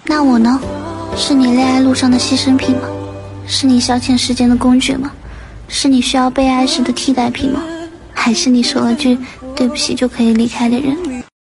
那我呢？是你恋爱路上的牺牲品吗？是你消遣时间的工具吗？是你需要被爱时的替代品吗？还是你说了句对不起就可以离开的人？